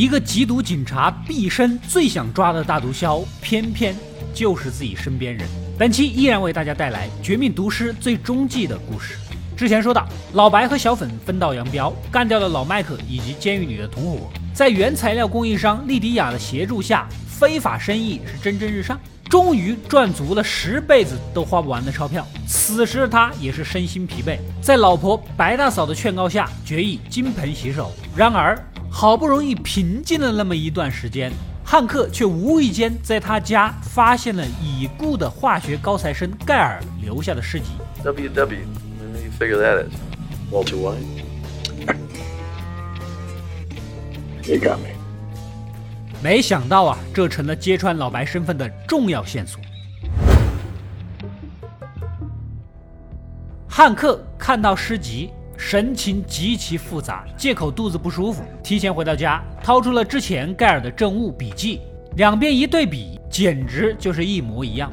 一个缉毒警察毕生最想抓的大毒枭，偏偏就是自己身边人。本期依然为大家带来《绝命毒师》最终季的故事。之前说到，老白和小粉分道扬镳，干掉了老麦克以及监狱里的同伙。在原材料供应商利迪亚的协助下，非法生意是蒸蒸日上，终于赚足了10辈子都花不完的钞票。此时的他也是身心疲惫，在老婆白大嫂的劝告下，决意金盆洗手。然而，好不容易平静了那么一段时间，汉克却无意间在他家发现了已故的化学高材生盖尔留下的诗集。 WW, what do you figure that is? Walter White? You got me. 没想到啊，这成了揭穿老白身份的重要线索。汉克看到诗集，神情极其复杂，借口肚子不舒服，提前回到家，掏出了之前盖尔的证物笔记，两边一对比，简直就是一模一样。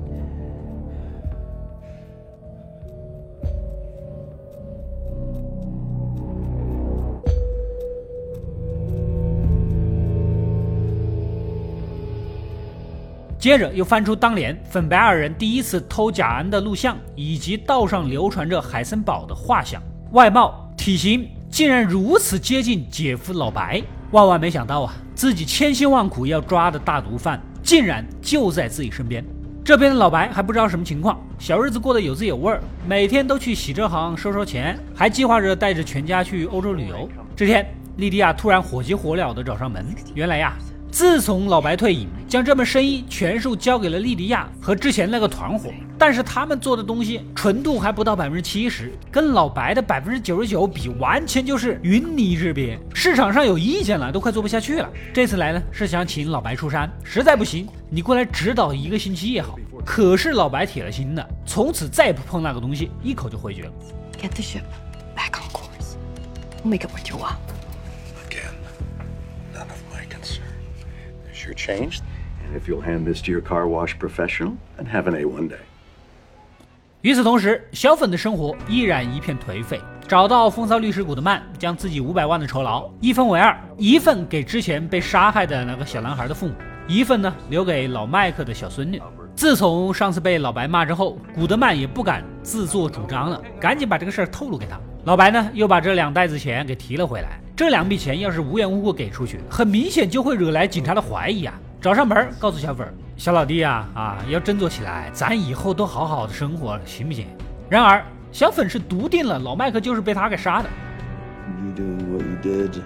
接着又翻出当年粉白二人第一次偷甲胺的录像，以及道上流传着海森堡的画像，外貌体型竟然如此接近姐夫老白。万万没想到啊，自己千辛万苦要抓的大毒贩竟然就在自己身边。这边的老白还不知道什么情况，小日子过得有滋有味，每天都去洗车行收钱，还计划着带着全家去欧洲旅游。这天莉迪亚突然火急火燎地找上门，原来呀，自从老白退隐，将这门生意全数交给了莉迪亚和之前那个团伙，但是他们做的东西纯度还不到70%，跟老白的99%比，完全就是云泥之别。市场上有意见了，都快做不下去了。这次来呢，是想请老白出山，实在不行，你过来指导1个星期也好。可是老白铁了心的，从此再不碰那个东西，一口就回绝了。 Get the ship back on course. We'll make it worth your while. Again, none of my concern. There's your change, and if you'll hand this to your car wash professional, and have an A1 day. 与此同时，小粉的生活依然一片颓废。找到风骚律师古德曼，将自己500万的酬劳一分为2，一份给之前被杀害的那个小男孩的父母，一份呢留给老麦克的小孙女。自从上次被老白骂之后，古德曼也不敢自作主张了，赶紧把这个事儿透露给他。老白呢又把这2袋子钱给提了回来。这2笔钱要是无缘无故给出去，很明显就会惹来警察的怀疑啊。找上门告诉小粉，小老弟啊，要振作起来，咱以后都好好的生活，行不行？然而小粉是笃定了老麦克就是被他给杀的。 You doing what you did,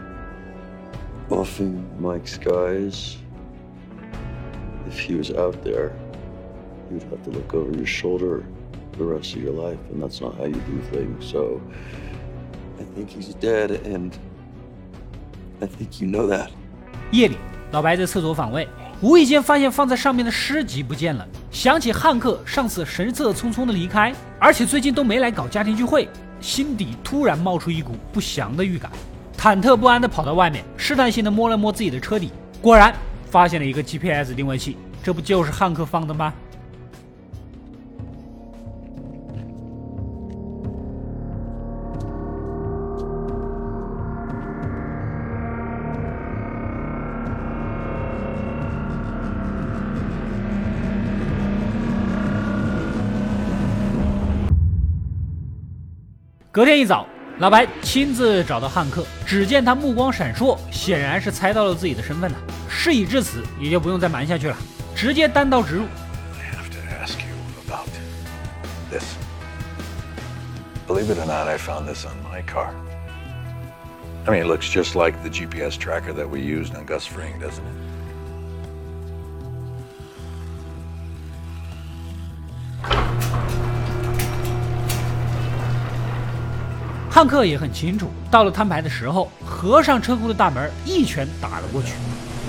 offing Mike's guys. If he was out there, you'd have to look over your shoulder the rest of your life, and that's not how you do things. So I think he's dead, and I think you know that. 夜里，老白在厕所反胃，无意间发现放在上面的诗集不见了，想起汉克上次神色匆匆的离开，而且最近都没来搞家庭聚会，心底突然冒出一股不祥的预感，忐忑不安的跑到外面，试探性的摸了摸自己的车底，果然发现了一个 GPS 定位器，这不就是汉克放的吗？隔天一早，老白亲自找到汉克，只见他目光闪烁，显然是猜到了自己的身份了。事已至此，也就不用再瞒下去了，直接单刀直入。 I have to ask you about this. Believe it or not, I found this on my car. I mean, it looks just like the GPS tracker that we used on Gus Fring, doesn't it? 汉克也很清楚，到了摊牌的时候，合上车库的大门，一拳打了过去。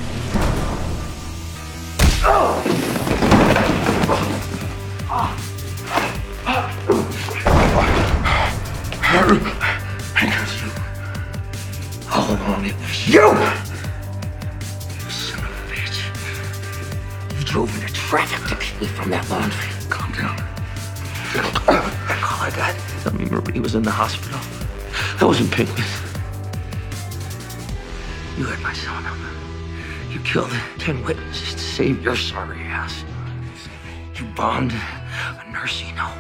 Hold on, you! Son of a bitch. You drove into traffic to keep me from that laundry. Calm down. That call I got. I mean, Marie was in the hospital. I wasn't picking. You had my son. You killed 10 witnesses to save your sorry ass. You bombed a nursing home.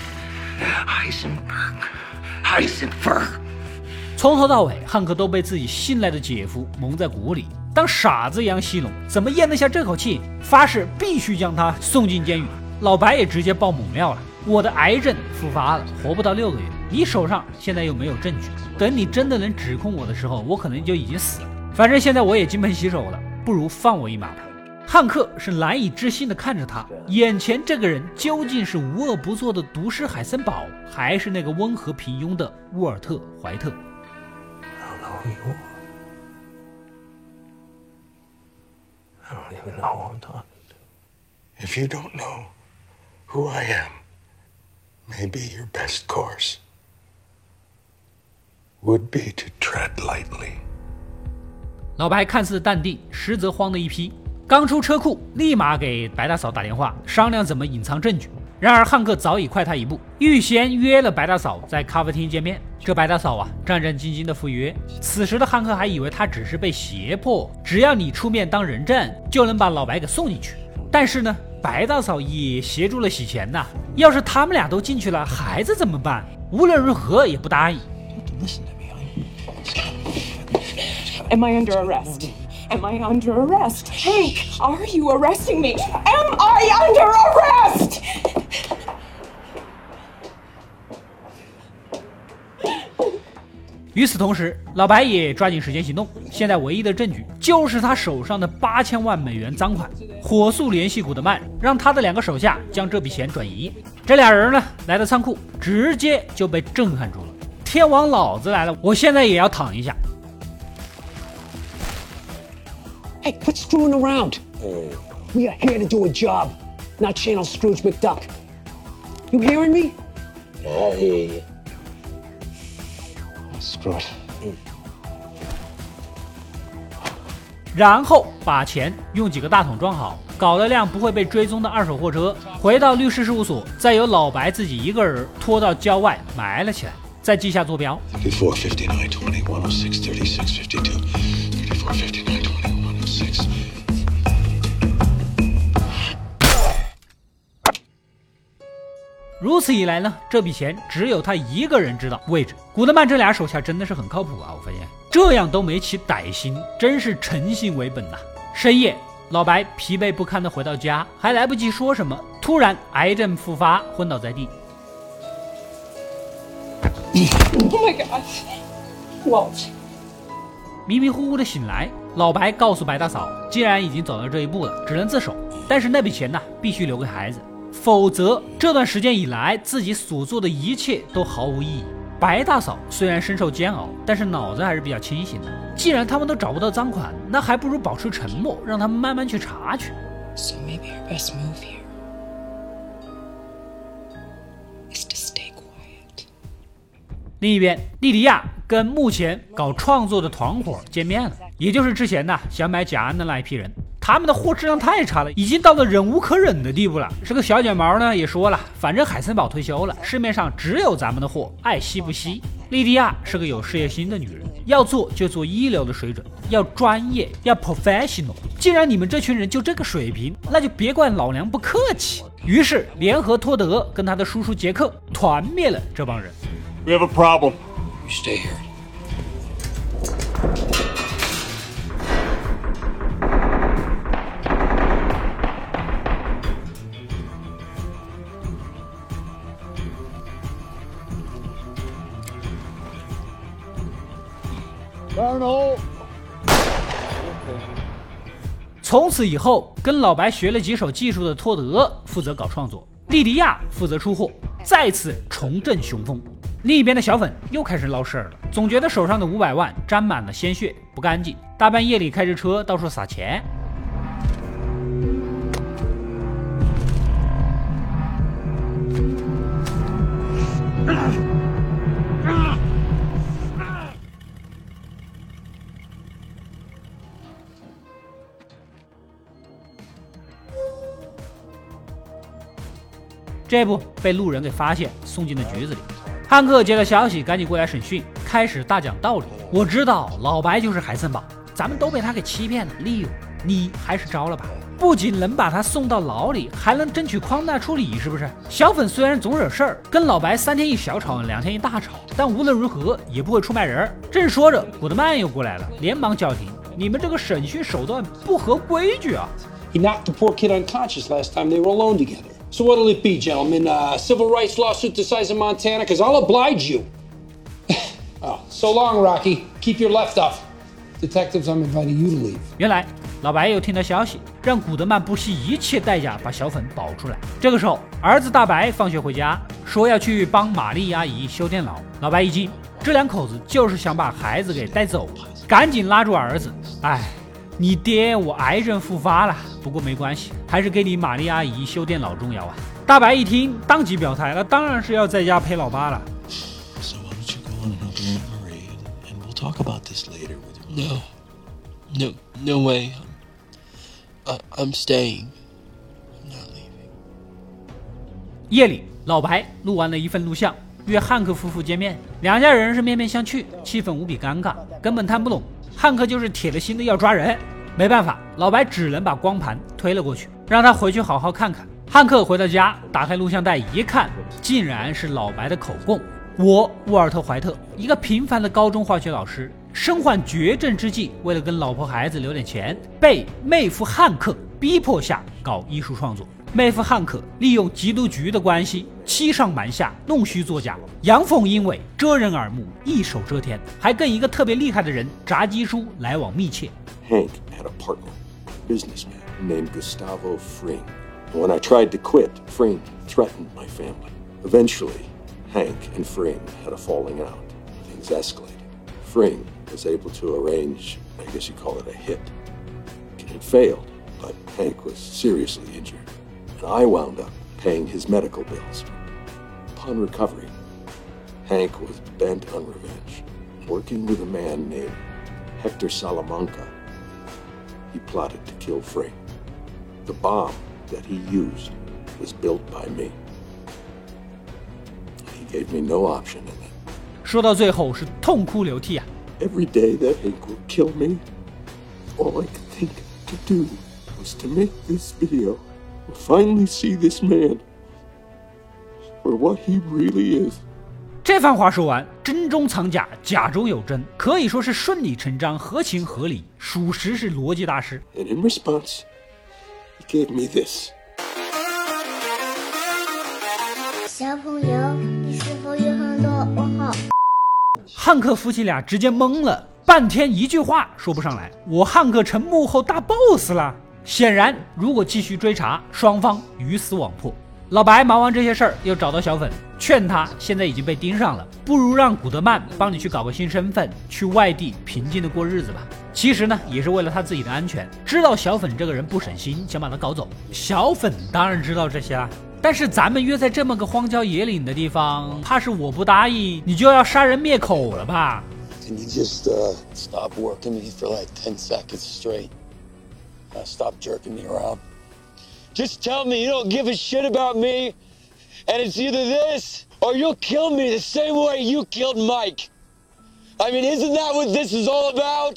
Heisenberg. 从头到尾，汉克都被自己信赖的姐夫蒙在鼓里，当傻子一样戏弄，怎么咽得下这口气？发誓必须将他送进监狱。老白也直接爆猛料了：我的癌症复发了，活不到6个月，你手上现在又没有证据，等你真的能指控我的时候，我可能就已经死了。反正现在我也金盆洗手了，不如放我一马吧。汉克是难以置信地看着他，眼前这个人究竟是无恶不作的毒师海森堡，还是那个温和平庸的沃尔特·怀特？ I don't even know who I'm talking to. If you don't know who I am, maybe your best course would be to tread lightly. 老白看似淡定，实则慌的一批。刚出车库，立马给白大嫂打电话，商量怎么隐藏证据。然而汉克早已快他一步，预先约了白大嫂在咖啡厅见面。这白大嫂啊，战战兢兢的赴约。此时的汉克还以为他只是被胁迫，只要你出面当人证，就能把老白给送进去。但是呢，白大嫂也协助了洗钱呐。要是他们俩都进去了，孩子怎么办？无论如何也不答应。 Am I under arrest? Am I under arrest? Hank, are you arresting me? Am I under arrest? 与此同时，老白也抓紧时间行动。现在唯一的证据就是他手上的8000万美元赃款。火速联系古德曼，让他的2个手下将这笔钱转移。这俩人呢，来到仓库，直接就被震撼住了。天王老子来了，我现在也要躺一下。 Hey, quit screwing around. We are here to do a job, not channel Scrooge McDuck. You hearing me? I hear you. Screw it. 然后把钱用几个大桶装好，搞了辆不会被追踪的2手货车，回到律师事务所，再由老白自己一个人拖到郊外埋了起来，再记下坐标。 34, 59, 20, 106, 36, 52. 34, 59, 20, 106. 如此一来呢，这笔钱只有他一个人知道位置。古德曼这俩手下真的是很靠谱啊！我发现这样都没起歹心，真是诚信为本呐。深夜，老白疲惫不堪地回到家，还来不及说什么，突然癌症复发，昏倒在地。 Oh my God. Walt. 迷迷糊糊的醒来，老白告诉白大嫂，既然已经走到这一步了，只能自首。但是那笔钱呢，必须留给孩子。否则，这段时间以来自己所做的一切都毫无意义。白大嫂虽然深受煎熬，但是脑子还是比较清醒的。既然他们都找不到赃款，那还不如保持沉默，让他们慢慢去查去。 So maybe our best move here is to stay quiet. 另一边，莉迪亚跟目前搞创作的团伙见面了，也就是之前想买贾安的那一批人。他们的货质量太差了，已经到了忍无可忍的地步了。这个小卷毛呢也说了，反正海森堡退休了，市面上只有咱们的货，爱惜不惜。莉迪亚是个有事业心的女人，要做就做一流的水准，要专业，要 professional。既然你们这群人就这个水平，那就别怪老娘不客气。于是联合托德跟他的叔叔杰克团灭了这帮人。 We have a problem. You stay here. Colonel. 从此以后，跟老白学了几手技术的托德负责搞创作，莉迪亚负责出货，再次重振雄风。另一边的小粉又开始闹事儿了，总觉得手上的500万沾满了鲜血，不干净，大半夜里开着车到处撒钱。这不被路人给发现，送进了局子里。汉克接到消息，赶紧过来审讯，开始大讲道理。我知道老白就是海森堡， 咱们都被他给欺骗了，利用你还是招了吧。不仅能把他送到牢里，还能争取宽大处理，是不是？小粉虽然总惹事儿，跟老白3天一小吵，2天一大吵，但无论如何也不会出卖人。正说着，古德曼又过来了，连忙叫停：“你们这个审讯手段不合规矩啊！” He knocked the poor kid unconscious last time they were alone together. So what'll it be, gentlemen? A civil rights lawsuit the size of Montana? Because I'll oblige you. Oh, so long, Rocky. Keep your left off.Detectives, I'm inviting you to leave. 原来老白又听到消息，让古德曼不惜一切代价把小粉保出来。这个时候，儿子大白放学回家，说要去帮玛丽阿姨修电脑。老白一惊，这2口子就是想把孩子给带走，赶紧拉住儿子。哎，你爹我癌症复发了，不过没关系，还是给你玛丽阿姨修电脑重要啊。大白一听，当即表态，那当然是要在家陪老爸了。 So why don't you go on and help Aunt Marie, and we'll talk about this later with your No way. I'm staying. I'm not leaving. 夜里，老白录完了一份录像，约汉克夫妇见面。2家人是面面相觑，气氛无比尴尬，根本谈不拢。汉克就是铁了心的要抓人，没办法，老白只能把光盘推了过去，让他回去好好看看。汉克回到家，打开录像带一看，竟然是老白的口供。我沃尔特·怀特，一个平凡的高中化学老师，身患绝症之际，为了跟老婆孩子留点钱，被妹夫汉克逼迫下搞艺术创作。妹夫汉克利用缉毒局的关系，欺上瞒下，弄虚作假，阳奉阴违，遮人耳目，一手遮天，还跟一个特别厉害的人炸鸡叔来往密切。 Hank had a partner, a businessman named Gustavo Fring. When I tried to quit, Fring threatened my family. Eventually, Hank and Fring had a falling out. Things escalated. Fring was able to arrange, I guess you call it a hit. It failed, but Hank was seriously injured, and I wound up paying his medical bills. Upon recovery, Hank was bent on revenge, working with a man named Hector Salamanca. He plotted to kill Fring. The bomb that he used was built by me. He gave me no option in it. 说到最后是痛哭流涕啊！ Every day that Hank would kill me, all I could think to do was to make this video, to finally see this man for what he really is. 这番话说完，真中藏假，假中有真，可以说是顺理成章，合情合理，属实是逻辑大师。 And in response, he gave me this. 小朋友，你是否有很多问号？ 汉克夫妻俩直接懵了，半天一句话说不上来。我汉克成幕后大 boss 了。显然，如果继续追查，双方鱼死网破。老白忙完这些事儿，又找到小粉，劝他现在已经被盯上了，不如让古德曼帮你去搞个新身份，去外地平静的过日子吧。其实呢，也是为了他自己的安全，知道小粉这个人不省心，想把他搞走。小粉当然知道这些啦。但是咱们约在这么个荒郊野岭的地方，怕是我不答应，你就要杀人灭口了吧？ Can you just stop working me for like 10 seconds straight? Stop jerking me around. Just tell me you don't give a shit about me, and it's either this or you'll kill me the same way you killed Mike. I mean, isn't that what this is all about?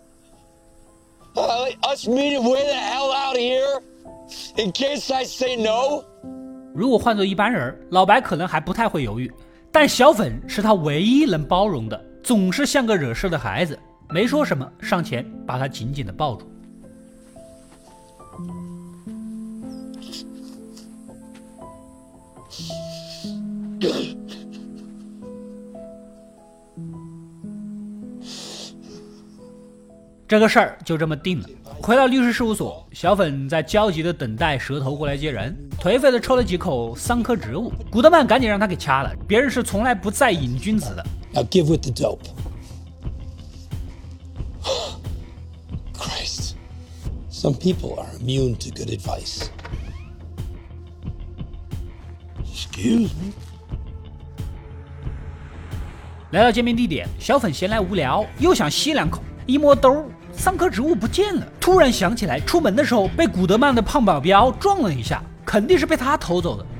Us meeting way the hell out here in case I say no? 如果换做一般人，老白可能还不太会犹豫，但小粉是他唯一能包容的，总是像个惹事的孩子，没说什么，上前把他紧紧地抱住。这个事儿就这么定了。回到律师事务所，小粉在焦急的等待蛇头过来接人，颓废的抽了几口桑科植物。古德曼赶紧让他给掐了，别人是从来不再瘾君子的。 Now give with the dope. Christ. Some people are immune to good advice. Excuse me. 来到见面地点，小粉闲来无聊，又想吸2口，一摸兜，桑科植物不见了。突然想起来，出门的时候被古德曼的胖保镖撞了一下，肯定是被他偷走的。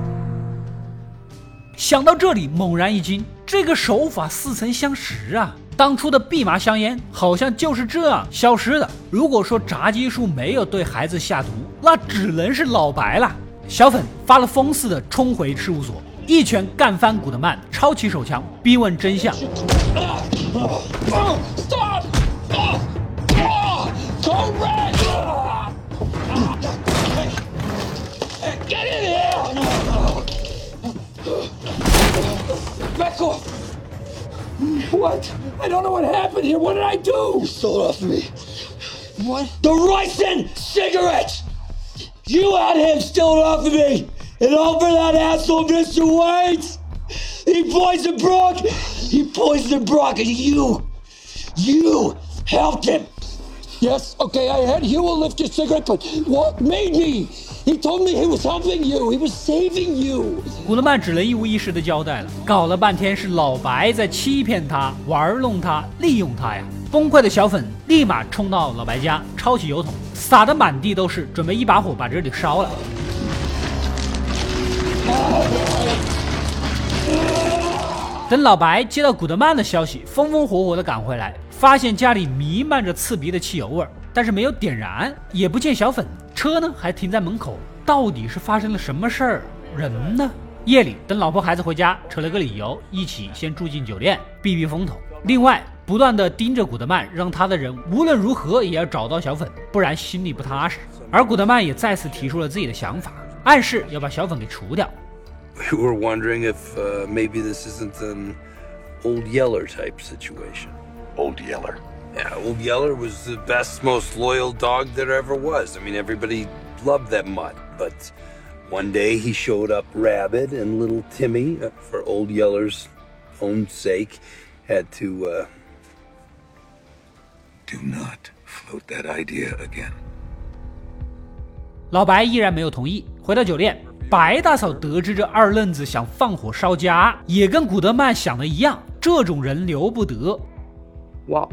想到这里，猛然一惊，这个手法似曾相识啊！ 当初的蓖麻香烟好像就是这样消失的。如果说炸鸡叔没有对孩子下毒，那只能是老白了。小粉发了疯似的冲回事务所，一拳干翻古德曼，抄起手枪逼问真相。 Back off! What? I don't know what happened here. What did I do? You stole it off of me. What? The ricin cigarettes! You had him steal it off of me! And all for that asshole Mr. Waits! He poisoned Brock! He poisoned Brock and you helped him! Yes, okay, I had Huel lift your cigarette, but what made me? He told me he was helping you. He was saving you. 古德曼只能一五一十的交代了，搞了半天是老白在欺骗他、玩弄他、利用他呀！崩溃的小粉立马冲到老白家，抄起油桶，撒得满地都是，准备一把火把这里烧了。等老白接到古德曼的消息，风风火火的赶回来，发现家里弥漫着刺鼻的汽油味，但是没有点燃，也不见小粉，车呢还停在门口，到底是发生了什么事儿？人呢？夜里等老婆孩子回家，扯了个理由，一起先住进酒店避避风头。另外不断的盯着古德曼，让他的人无论如何也要找到小粉，不然心里不踏实。而古德曼也再次提出了自己的想法，暗示要把小粉给除掉。 We were wondering if maybe this isn't an Old Yeller type situation. Old Yeller. Yeah, Old Yeller was the best, most loyal dog there ever was. I mean, everybody loved that mutt. But one day he showed up rabid, and little Timmy, for Old Yeller's own sake, had to, Do not float that idea again. 老白依然没有同意。回到酒店，白大嫂得知这二愣子想放火烧家，也跟古德曼想的一样，这种人留不得。 Walt,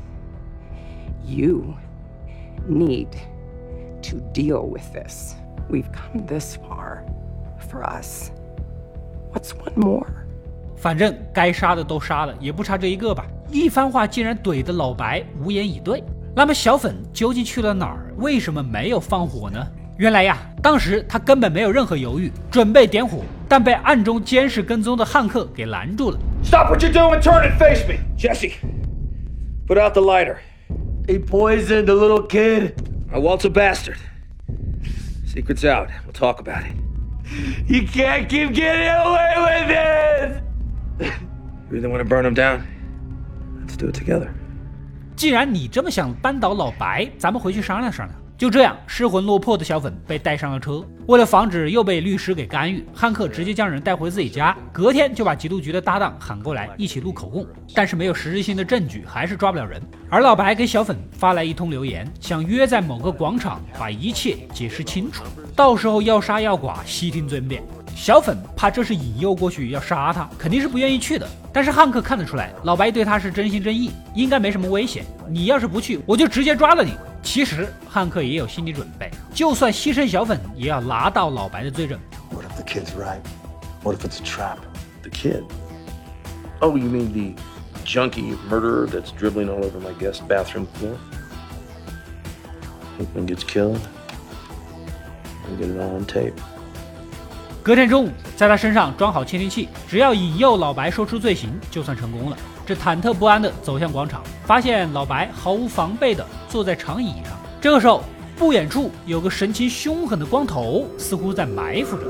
you need to deal with this. We've come this far for us. What's one more? 反正该杀的都杀了，也不差这一个吧。一番话竟然怼得老白无言以对。那么小粉究竟去了哪儿？为什么没有放火呢？原来呀，当时他根本没有任何犹豫，准备点火，但被暗中监视跟踪的汉克给拦住了。 Stop what you're doing and turn and face me! Jesse, put out the lighter. He poisoned a little kid. Walt's a bastard. Secret's out. We'll talk about it. You can't keep getting away with it! You really want to burn him down? Let's do it together. 既然你这么想扳倒老白，咱们回去商量商量。就这样，失魂落魄的小粉被带上了车。为了防止又被律师给干预，汉克直接将人带回自己家，隔天就把缉毒局的搭档喊过来一起录口供。但是没有实质性的证据，还是抓不了人。而老白给小粉发来一通留言，想约在某个广场把一切解释清楚，到时候要杀要剐，悉听尊便。小粉怕这是引诱过去要杀他，肯定是不愿意去的。但是汉克看得出来，老白对他是真心真意，应该没什么危险。你要是不去，我就直接抓了你。其实汉克也有心理准备，就算牺牲小粉，也要拿到老白的罪证。 What if the kid's right? What if it's a trap? The kid? Oh, you mean the junkie murderer that's dribbling all over my guest bathroom floor? Hickman gets killed. We'll get it all on tape. 隔天中午，在他身上装好窃听器，只要引诱老白说出罪行，就算成功了。这忐忑不安地走向广场，发现老白毫无防备地坐在长椅上。这个时候，不远处有个神情凶狠的光头，似乎在埋伏着。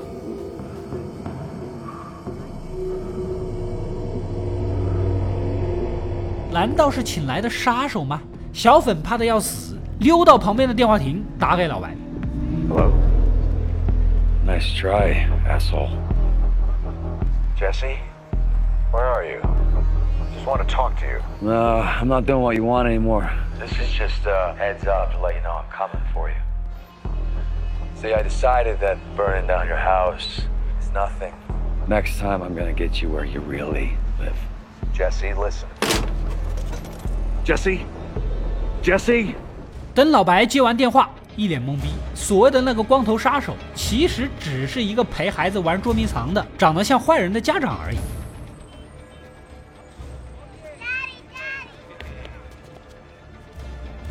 难道是请来的杀手吗？小粉怕得要死，溜到旁边的电话亭打给老白。 Hello. Nice try, asshole. Jesse, where are you? Just want to talk to you. No, I'm not doing what you want anymore. This is just a heads up to let you know I'm coming for you. See, I decided that burning down your house is nothing. Next time I'm gonna get you where you really live. Jesse, listen. Jesse? Jesse? 等老白接完电话，一脸懵逼。所谓的那个光头杀手，其实只是一个陪孩子玩捉迷藏的，长得像坏人的家长而已。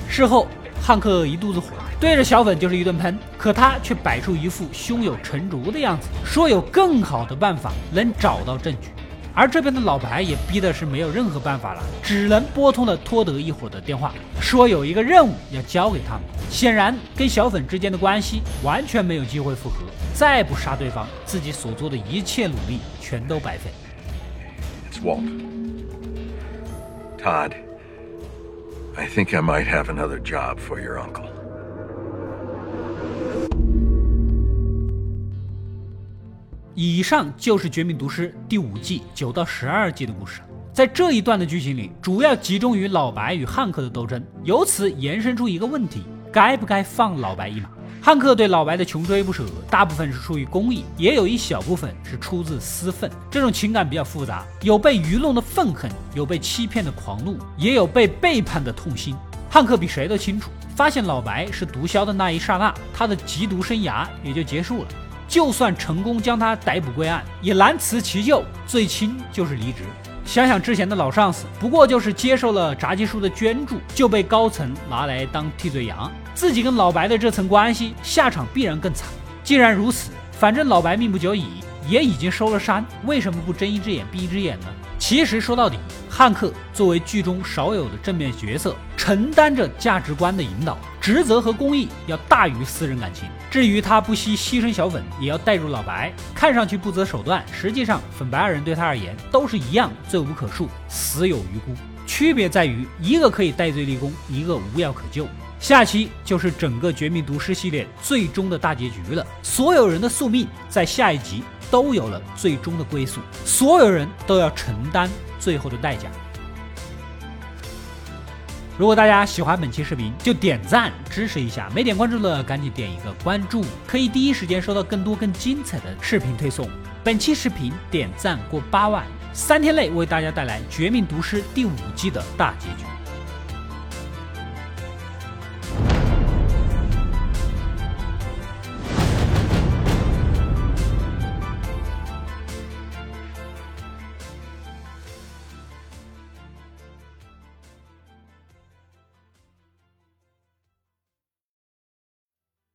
事后汉克一肚子火，对着小粉就是一顿喷，可他却摆出一副胸有成竹的样子，说有更好的办法能找到证据。而这边的老白也逼的是没有任何办法了，只能拨通了托德一伙的电话，说有一个任务要交给他们。显然跟小粉之间的关系完全没有机会复合，再不杀对方，自己所做的一切努力全都白费。 It's Walt. Todd, I think I might have another job for your uncle. 以上就是《绝命毒师》第5季9到12集的故事。在这一段的剧情里，主要集中于老白与汉克的斗争，由此延伸出一个问题：该不该放老白一马？汉克对老白的穷追不舍，大部分是出于公义，也有一小部分是出自私愤。这种情感比较复杂，有被愚弄的愤恨，有被欺骗的狂怒，也有被背叛的痛心。汉克比谁都清楚，发现老白是毒枭的那一刹那，他的缉毒生涯也就结束了。就算成功将他逮捕归案，也难辞其咎，最轻就是离职。想想之前的老上司，不过就是接受了炸鸡叔的捐助，就被高层拿来当替罪羊，自己跟老白的这层关系，下场必然更惨。既然如此，反正老白命不久矣，也已经收了山，为什么不睁一只眼闭一只眼呢？其实说到底，汉克作为剧中少有的正面角色，承担着价值观的引导，职责和公益要大于私人感情。至于他不惜牺牲小粉，也要带入老白，看上去不择手段，实际上粉白二人对他而言都是一样罪无可恕，死有余辜。区别在于一个可以戴罪立功，一个无药可救。下期就是整个《绝命毒师》系列最终的大结局了，所有人的宿命在下一集都有了最终的归宿，所有人都要承担最后的代价。如果大家喜欢本期视频，就点赞支持一下，没点关注的赶紧点一个关注，可以第一时间收到更多更精彩的视频推送。本期视频点赞过8万，3天内为大家带来《绝命毒师》第5季的大结局。